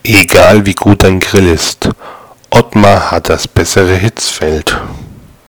Egal wie gut dein Grill ist, Ottmar hat das bessere Hitzfeld.